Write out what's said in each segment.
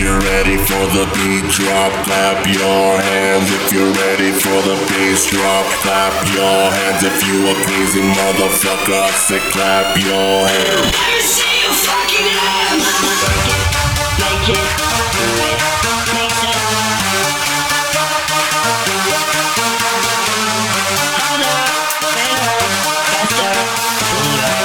you're ready for the beat drop, clap your hands. If you're ready for the bass drop, clap your hands. If you a crazy motherfucker, I say clap your hands. Let me see you fucking hands. Make it, do it, make it. Harder, better, faster, stronger.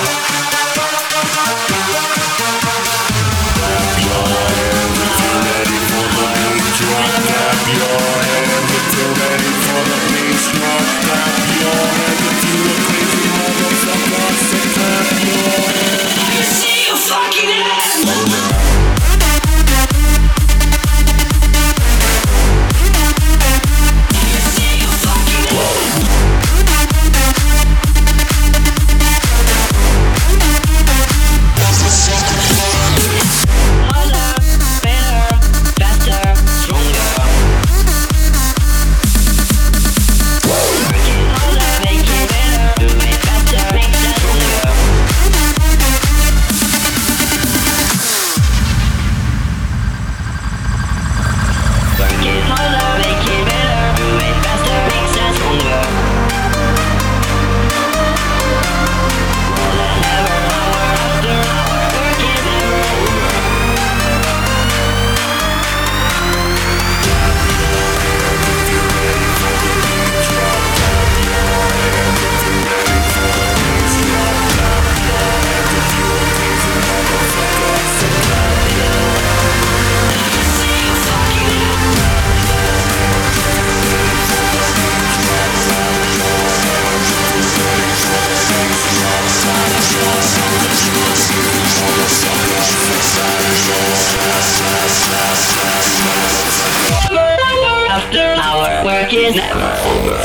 Clap your hands if you're ready for the beat drop, clap your hands. If you're ready for the bass drop, clap your hands. If you a crazy motherfucker, I say clap your hands. Let me see you fucking hands. After our work is never over.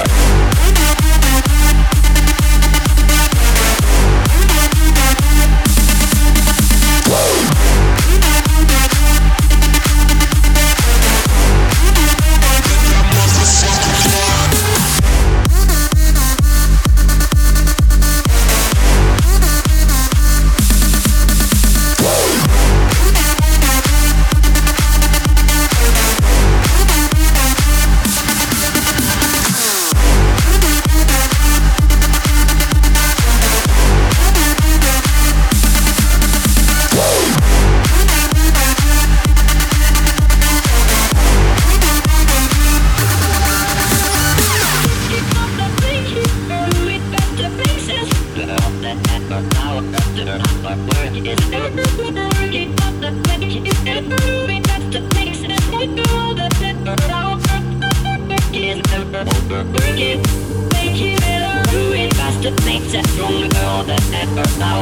Makes it stronger than ever. Now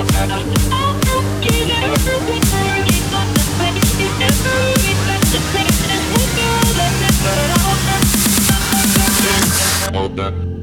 over.